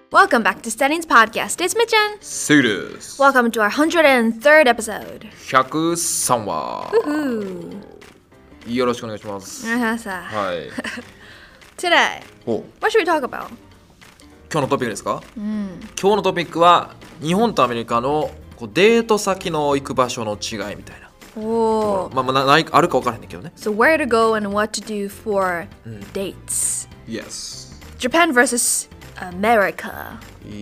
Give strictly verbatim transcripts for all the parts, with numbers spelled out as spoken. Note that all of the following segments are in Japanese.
Welcome back to Studying's podcast. It's Mitchan. セイです。 Welcome to our one hundred third episode. ひゃくさんわ。 Woohoo. よろしくお願いします。はい。 Today, お what should we talk about? 今日のトピックですか、うん、今日のトピックは日本とアメリカのこうデート先の行く場所の違いみたいな。おまあ、まあ、ないあるか分からへんねんけどね。 So where to go and what to do for、うん、dates. Yes. Japan versus America.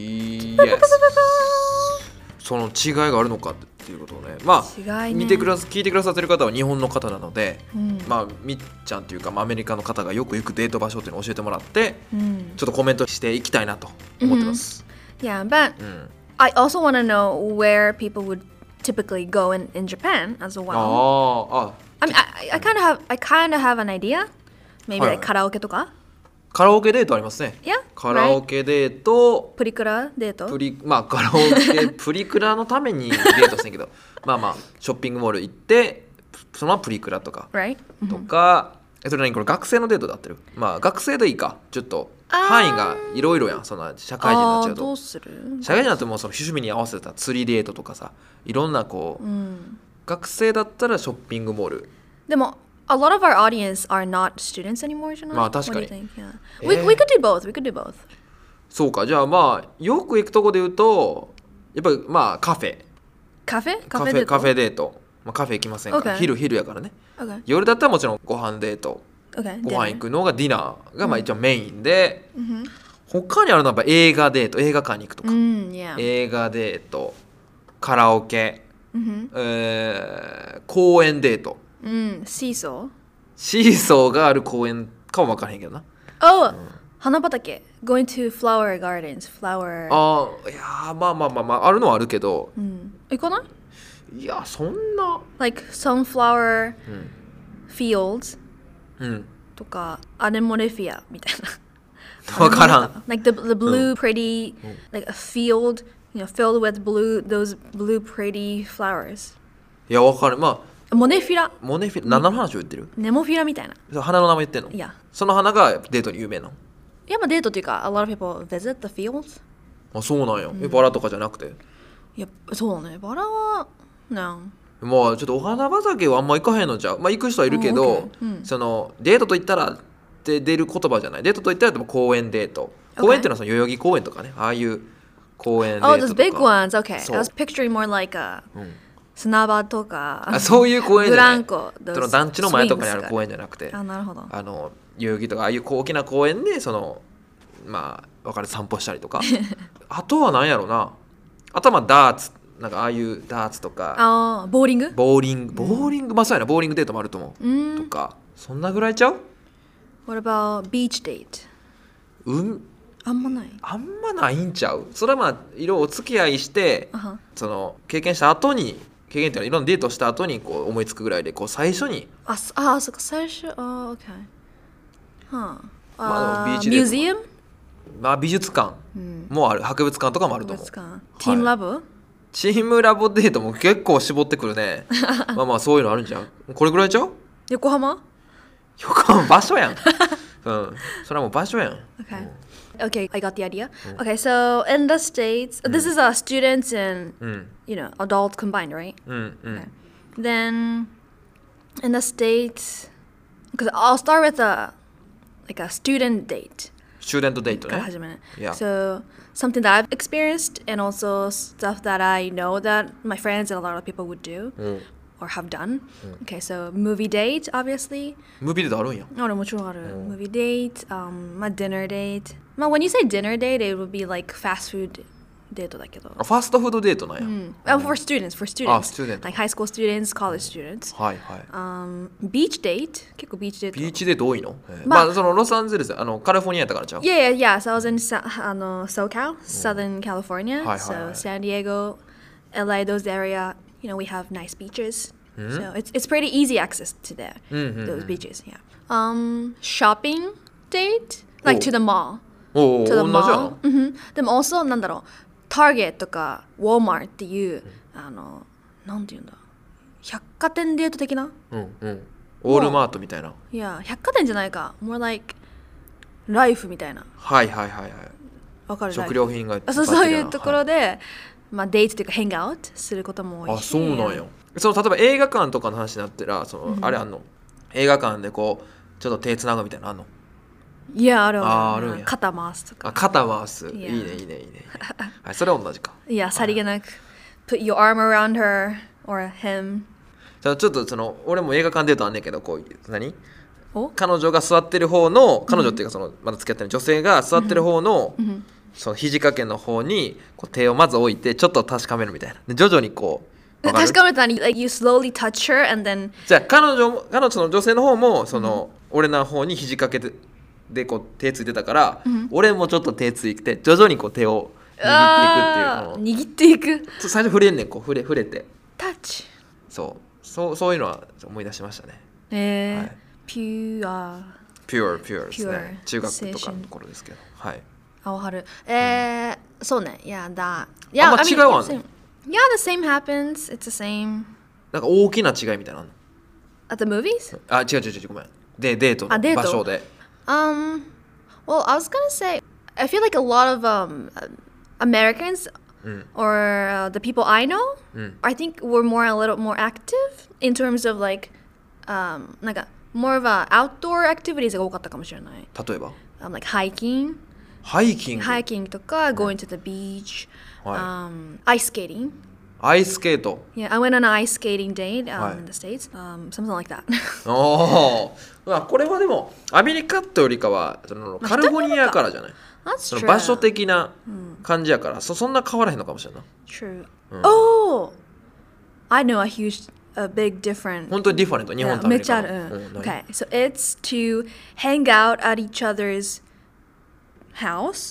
Yes. その違いがあるのかっていうことをね。まあ、ね、見てくだ聞いてくださってる方は日本の方なので、うん、まあみっちゃんっていうか、まあ、アメリカの方がよく行くデート場所っていうのを教えてもらって、うん、ちょっとコメントしていきたいなと思ってます。 Mm-hmm. Yeah, but、うん、I also want to know where people would typically go in, in Japan as well. ああ。 I mean, I, I kind of have, I kind of have an idea. Maybe like カラオケとか。 カラオケデートありますね。 Yeah, カラオケデート、 プリクラデートプリ、まあカラオケプリクラのためにデートしてんけどまあまあショッピングモール行ってそのままプリクラとか、 right? とか、それ何これ学生のデートで合ってる？まあ学生でいいか。ちょっと範囲がいろいろやん。そんな社会人になっちゃうと。 どうする？ 社会人になってもその趣味に合わせた釣りデートとかさ、いろんなこう、うん、学生だったらショッピングモール。 でもA lot of our audience are not students anymore, じゃない？ まあ確かに。 Yeah. We, we could do both. We could do both. そうか。じゃあまあよく行くとこで言うとやっぱりまあカフェ。 カフェ？ カフェデート。カフェデート。まあ、カフェ行きませんか、okay. 昼昼やからね。Okay. 夜だったらもちろんご飯デート。Okay. ご飯行くのがディナーがまあ一応メインで、mm-hmm. 他にあるのはやっぱ映画デート。映画館に行くとか。 Mm, yeah. 映画デート、カラオケ、mm-hmm. えー、公園デート。 うん、シーソーシーソーがある公園かも分からへんけどな。 Oh、うん、花畑 Going to flower gardens flower ああ、いやまあまあまあまああるのはあるけど、 うん、行かない？ いやそんな Like sunflower、うん、fields、うん、とかアネモネフィアみたいな分からん。 Like the, the blue、うん、pretty、うん、like a field you know, filled with blue those blue pretty flowers。 いや分かる。まあモネフィラ。 モネフィラ、何の話を言ってる？ ネモフィラみたいな。 花の名前言ってんの？ いや。 その花がデートに有名なの？ いや、まあデートっていうか、a lot of people visit the fields。 あ、そうなんや。うん、バラとかじゃなくて？ いや、そうね。バラは、なまあちょっとお花畑はあんま行かへんのじゃう。まあ行く人はいるけど、oh, okay. うん、そのデートと言ったらって出る言葉じゃない。デートと言ったらでも公園デート。公園っていうのはその代々木公園とかね。ああいう公園デートとか。 Oh, those big ones. Okay. I was picturing more like a、うん、砂場とかあそういう公園じゃない。 ブランコその団地の前とかにある公園じゃなくて、 あ、なるほど。 あの代々木とかああいう大きな公園でそのまあ分かる散歩したりとかあとは何やろうな。あとはまあダーツなんかああいうダーツとかあボーリングボーリングボーリング、うん、まあそうやな。ボーリングデートもあると思う、うん、とかそんなぐらいちゃう？ What about beach date? うんあんまないあんまないんちゃう？それはまあいろいろお付き合いして、uh-huh. その経験した後に経験っていうのはいろんなデートした後にこう思いつくぐらいでこう最初にああそっか最初あ OK はあ、 まあ、 ビーチデートミュージアムまあ美術館もある、うん、博物館とかもあると思う。 博物館ティームラボ、はい、 チームラボデートも結構絞ってくるねまあまあそういうのあるんじゃん。これぐらいちゃう？ 横浜横浜場所やんうんそれはもう場所やん。 Okay、okay, I got the idea、うん、Okay, so in the States、うん、this is a students and、うん、you know adults combined, right? うん、うん、okay. Then in the States because I'll start with a like a student date student date ね。 Yeah. So something that I've experienced and also stuff that I know that my friends and a lot of people would do、うん、or have done、うん、Okay, so movie date obviously ムービーデートあるんや。 あるもちろんある、うん、movie date、um, まあ dinner date まあ when you say dinner date it would be like fast foodデートだけどファストフードデートなんや、うんうん、for students for students あ student like high school students college students はいはい、 um, beach date 結構ビーチデートビーチデート多いの、まあ、まあそのロサンゼルスあのカリフォルニアやったからちゃう Yeah yeah yeah so I was in Sa- あの SoCal Southern California、はいはいはい、so San Diego L A those area you know we have nice beaches、mm-hmm. so it's, it's pretty easy access to there、mm-hmm. those beaches yeah um, shopping date like to the mall to the mall、mm-hmm. でも also なんだろうターゲットとかウォーマーっていう、うん、あのなんていうんだ百貨店デート的な、 うんうん、オールマートみたいな。 いや百貨店じゃないか more like ライフみたいな。 はいはいはいはい。 食料品がそうそういうところで、はい、まあ、デートというかヘングアウトすることも多いし。 あ、そうなんや。その例えば映画館とかの話になったらその、うん、あれあんの映画館でこうちょっと手つなぐみたいなのあんの？ いや、あるああるんや。 肩回すとか。 あ、肩回す。いいねいいねいいね。はい、それは同じか。 いや、さりげなく put your arm around her or him。 じゃあちょっとその俺も映画館で言うとあんねんけど、こう何？彼女が座ってる方の彼女っていうかそのまだ付き合ってる女性が座ってる方の、うん、その肘掛けの方にこう手をまず置いてちょっと確かめるみたいな。で徐々にこう確かめたら like you slowly touch her and then じゃあ彼女も彼女の女性の方もその、うん、俺の方に肘掛けてでこう手ついてたから、うん、俺もちょっと手ついて徐々にこう手を握っていくっていう握っていく最初触れんねんこう触れ触れてタッチそうそうそういうのは思い出しましたね。 えーはい、ピュアピュアピュアですね。中学とかのところですけど、はい。 青春えー、うん、そうね。いやだいやあんま違うわね。 Yeah, the same happens. It's the same. なんか大きな違いみたいなの At the movies? あ、違う違う違うごめん。でデートの場所で。 Um, well, I was gonna say, I feel like a lot of um Americans mm. or uh, the people I know, mm. I think we're more a little more active in terms of like, um, なんか more of a outdoor activities が多かったかもしれない。 例えば、 um, like hiking, ハイキング、 ハイキングとか going to the beach, um, ice skating. アイススケート。 Yeah, I went on an ice skating date um, in the States, um, something like that. おお、これはでもアメリカとよりかはそのカリフォルニアからじゃない。その場所的な感じやから、そそんな変わらへんのかもしれない。 True. Oh, I know a huge, a big difference. 本当にディファレント。日本とアメリカの。 めっちゃある。Okay, so it's to hang out at each other's house,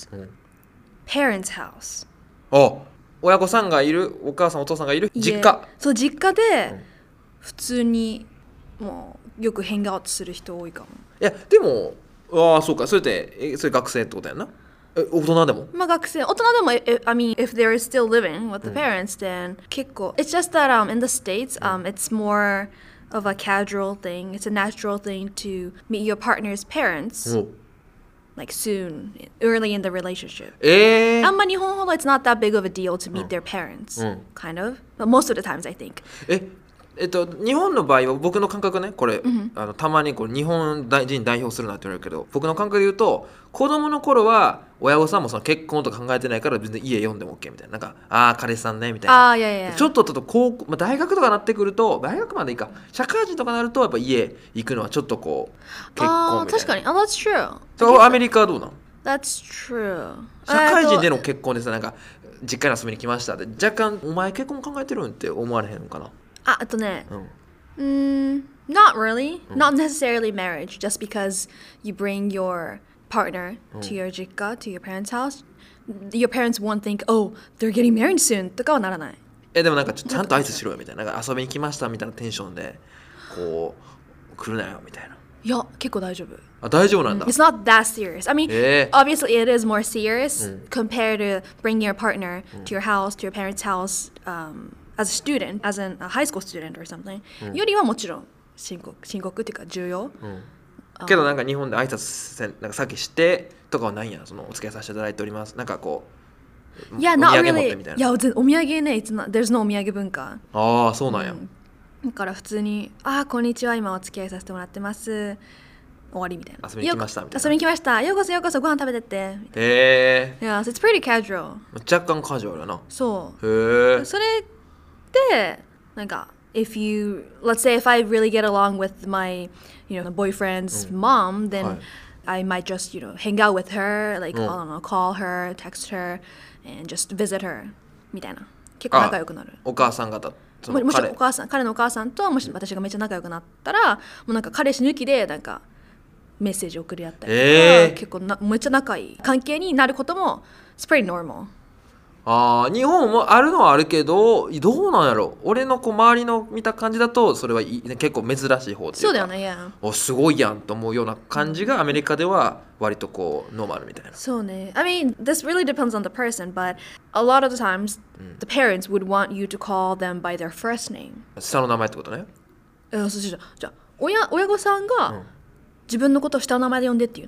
parents' house. お。親御さんがいるお母さんお父さんがいる実家そう実家で普通にもうよくヘングアウトする人多いかも。 いやでもああそうかそれってえそれ学生ってことやな。え大人でもまあ学生大人でも I mean if they're still living with the parents、うん、then 結構 it's just that um in the States um it's more of a casual thing it's a natural thing to meet your partner's parents、うんlike soon, early in the relationship. えー、 あんま日本ほど it's not that big of a deal to meet、うん、their parents、うん、kind of. But most of the times, I think. え、えっと、日本の場合は僕の感覚ね、これ、うん、あのたまにこう日本人代表するなって言われるけど、僕の感覚で言うと、子供の頃は親御さんもその結婚とか考えてないから別に家読んでも OK みたいな。なんか、ああ、彼氏さんね、みたいな。 あいやいやちょっとと高校、まあ、大学とかなってくると、大学までいいか、社会人とかなると、やっぱ家行くのはちょっとこう、結婚みたいな。 確かに、あ、that's true. そうアメリカはどうなの ？That's true. 社会人での結婚ですなんか実家に遊びに来ましたで若干お前結婚考えてるんって思われへんのかなあ、あとね、うん、mm, not really, not necessarily marriage, just because you bring your partner to your 実家 to your parents' house, your parents won't think, oh, they're getting married soon とかはならない。 え、でもなんかちゃんと挨拶しろよみたいな、なんか遊びに来ましたみたいなテンションでこう来るなよみたいな。 いや、結構大丈夫。 あ、大丈夫なんだ。 It's not that serious. I mean, obviously it is more serious compared to bringing your partner to your house, to your parents' house, um, as a student, as an, a high school student or something. よりはもちろん深刻、深刻っていうか重要。 けどなんか日本で挨拶せんなんか先してとかはないんや。そのお付き合いさせていただいております。なんかこう。いや、not really. いや、お土産ね、it's not, there's no お土産文化。 ああ、そうなんや。 だから普通に「ああこんにちは今お付き合いさせてもらってます」終わりみたいな。 遊びに来ましたみたいな。 遊びに来ましたようこそようこそご飯食べてってへえ。 Yeah, so it's pretty casual. 若干カジュアルやな。 そうへえ。 それでなんか if you let's say if I really get along with my you know boyfriend's mom then、はい、I might just you know hang out with her like、うん、I don't know call her text her and just visit her みたいな結構仲良くなる。 お母さん方も, もしお母さん彼のお母さんともし私がめっちゃ仲良くなったらもうなんか彼氏抜きでなんかメッセージ送り合ったりとか、えー、結構なめっちゃ仲いい関係になることも it's pretty normal。 あ日本もあるのはあるけどどうなんやろ俺のこう周りの見た感じだとそれは結構珍しい方っていうかそうだよね、yeah、 おすごいやんと思うような感じがアメリカでは割とこうノーマルみたいな。 そうね。I mean, this really depends on the person, but a lot of the times、うん、the parents would want you to call them by their first name。 下の名前ってことね。 えそうじゃじゃあ親親御さんが、うん、自分のことを下の名前で呼んでっていうの。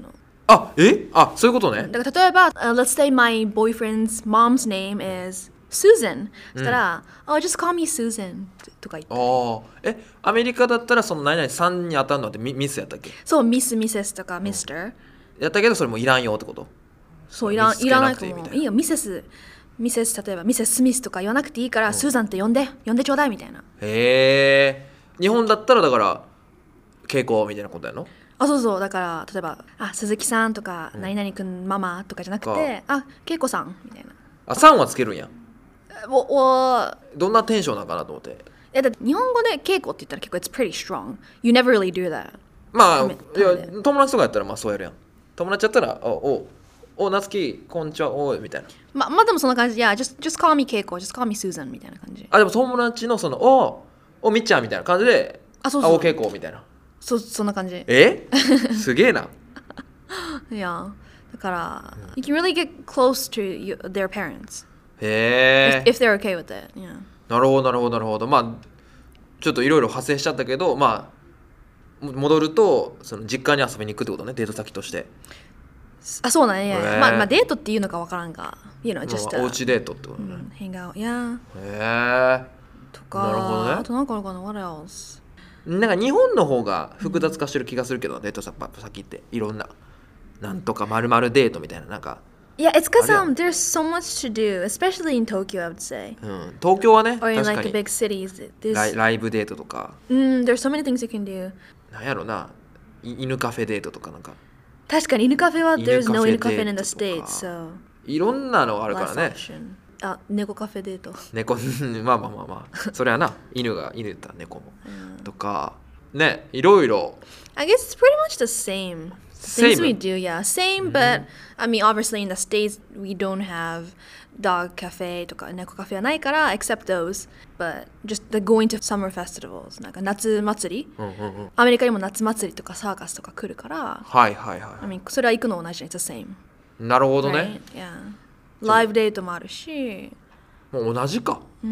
あ、えあ、そういうことね。 だから例えば、uh, let's say my boyfriend's mom's name is Susan そしたら、うん、oh just call me Susan とか言って。 ああ、え、アメリカだったらその何々さんに当たるのってミ、ミスやったっけ？ そう、ミス、ミセスとかミスター、うん、 やったけどそれもいらんよってこと？ そう、いらん、いらないと思う。いいよ、ミセスミセス、例えばミセス・スミスとか言わなくていいから、うん、スーザンって呼んで呼んでちょうだいみたいな。 へえ。日本だったらだから稽古みたいなことやの？ あ、そうそう、だから例えばあ鈴木さんとか、うん、何々くんママとかじゃなくて、あ、恵子さんみたいな。 あ、さんはつけるんや。 おお、 どんなテンションなんかなと思って。 いやだって日本語で稽古って言ったら結構 it's pretty strong. You never really do that. まあ、いや友達とかやったらまあそうやるやん。友達やったらおおおなつきこんにちはおみたいな。 ままあでもそんな感じ。いや just just call me 稽古 just call me Susan みたいな感じ。 あ、でも友達のそのおおみっちゃんみたいな感じで、 あ、そうそう、 あお稽古みたいな。 そそんな感じ。 えすげえな。 いやだから、うん、you can really get close to you, their parents. へえ。 If, if they're okay with it. Yeah. なるほどなるほどなるほど。まあちょっといろいろ派生しちゃったけど、まあ戻るとその実家に遊びに行くってことね、デート先として。 あ、そうだね。まあまあデートっていうのかわからんが、you know, just、 まあ、おうちデートってことね。うん、 hang out, yeah. へえ。 とか。なるほどね。あとなんかあるかな、what else? なんか日本の方が複雑化してる気がするけど、うん、デート先っていろんななんとかまるまるデートみたいななんか。 Yeah, it's because um, there's so much to do, especially in Tokyo, I would say. うん、東京はね、 or in 確か like に the big cities. There's... ライ、ライブデートとか。 うん、there's so many things you can do. なんやろな、犬カフェデートとかなんか。 確かに犬カフェは there's no 犬カフェ in the States, so. いろんなのあるからね。 あ、猫カフェデート。 猫、まあまあまあまあ、それはな、犬が犬だったら猫も、うん、とかね、いろいろ。 I guess it's pretty much the same. Things we do, yeah, same, but I mean, obviously in the States we don't have dog cafe とか猫カフェはないから except those, but just the going to summer festivals なんか夏祭り、うんうんうん、アメリカにも夏祭りとかサーカスとか来るから、 はいはいはい。 I mean, それは行くの同じ、it's the same. なるほどね。 Right? Yeah. ライブデートもあるし、 もう同じか。 うん、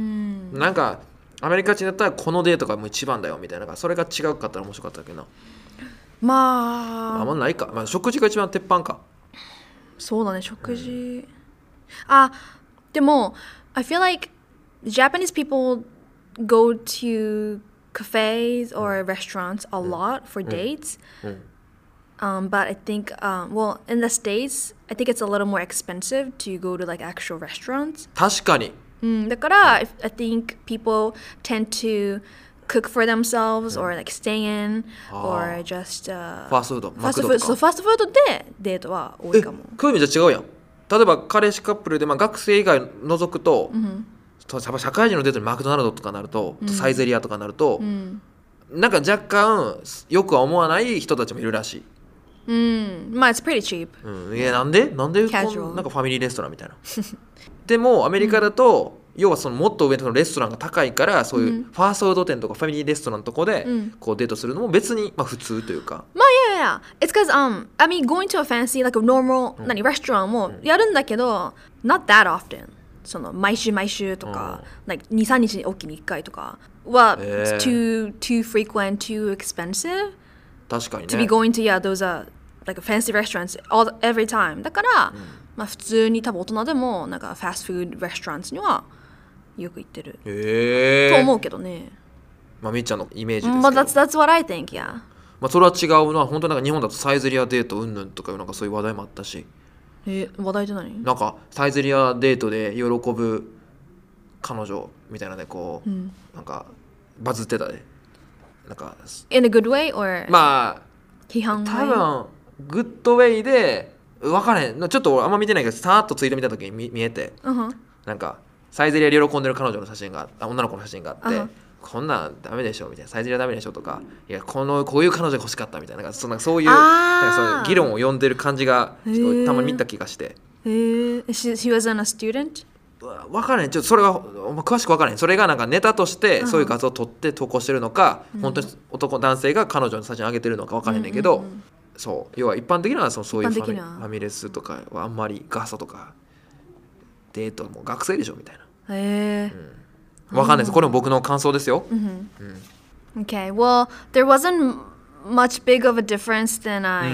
なんかアメリカ人だったらこのデートがもう一番だよみたいな、それが違うかったら面白かったけどな。 まああんまないか、まあ、食事が一番鉄板か。 そうだね、食事、うん、あ、でも I feel like Japanese people go to cafes or restaurants a lot for dates、うんうん、um, but I think um, well in the States I think it's a little more expensive to go to like actual restaurants. 確かに、 うん、だから I think people tend to cook for themselves or like stay in or just、uh, ファーストフード、 ファーストフード、そう、ファーストフードでデートは多いかも。 え、こういう意味じゃ違うやん。例えば彼氏カップルで、まあ、学生以外除くと、うん、社会人のデートにマクドナルドとかなると、うん、サイゼリアとかなると、うん、なんか若干よくは思わない人たちもいるらしい。 うん、まあ it's pretty cheap、 うん、いやなんでなんでこんなんかファミリーレストランみたいなでもアメリカだと、うん、要はそのもっと上のレストランが高いからそういうファーストフード店とかファミリーレストランのとこでこうデートするのも別にまあ普通というか、 まあいやいや it's because um I mean going to a fancy like a normal、うん、何レストランもやるんだけど、うん、not that often その毎週毎週とか、うん、like にさんにちおきにいっかいとかは、えー、too too frequent too expensive 確かにね to be going to yeah those are like fancy restaurants all every time だから、うん、まあ普通に多分大人でもなんかファストフードレストランにはよく行ってる、 えー、 と思うけどね。 まあみっちゃんのイメージですけど。 But that's that's what I think, yeah. まあそれは違うな。本当なんか日本だとサイゼリアデートうんぬんとかなんかそういう話題もあったし。 えー、話題って何？ なんかサイゼリアデートで喜ぶ彼女みたいなのでこう、うん、なんかバズってたで。なんか In a good way or まあ批判多分グッドウェイで分からへん。ちょっと俺あんま見てないけどさーっとツイート見た時に 見, 見えて、uh-huh. なんかサイゼリアで喜んでる彼女の写真が女の子の写真があって、uh-huh. こんなんダメでしょみたいな、サイゼリアダメでしょとか、いやこのこういう彼女が欲しかったみたいな、なんかそんなそういうなんかそういう議論を呼んでる感じがたまに見た気がして。 へえ。She, she was a student? 分からへん。ちょっとそれは詳しく分からへん。それがなんかネタとしてそういう画像を撮って投稿してるのか、uh-huh. 本当に男男性が彼女の写真を上げてるのか分からへんねんけど、uh-huh. そう要は一般的なそのそういうファミ、ファミレスとかはあんまりガサとかデートも学生でしょみたいな。 へえ、 うん、わかんないです。これも僕の感想ですよ。 Mm-hmm. うん、okay, well, there wasn't much big of a difference than I、うん、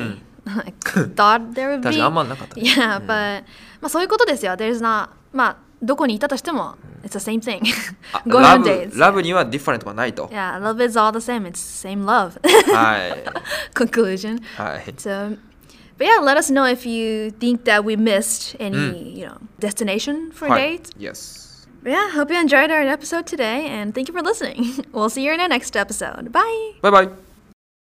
I thought there would be. 確かにあんまなかった、ね。 Yeah, but、まあそういうことですよ。There's not まあどこにいたとしても、it's the same thing. Go on dates. ラブには different はないと。 Yeah, love is all the same. It's same love. はい。 Conclusion. はい。 So, but yeah, let us know if you think that we missed any, うん、 you know, destination for はい、 dates. Yes. But yeah, hope you enjoyed our episode today, and thank you for listening. We'll see you in our next episode. Bye. Bye bye.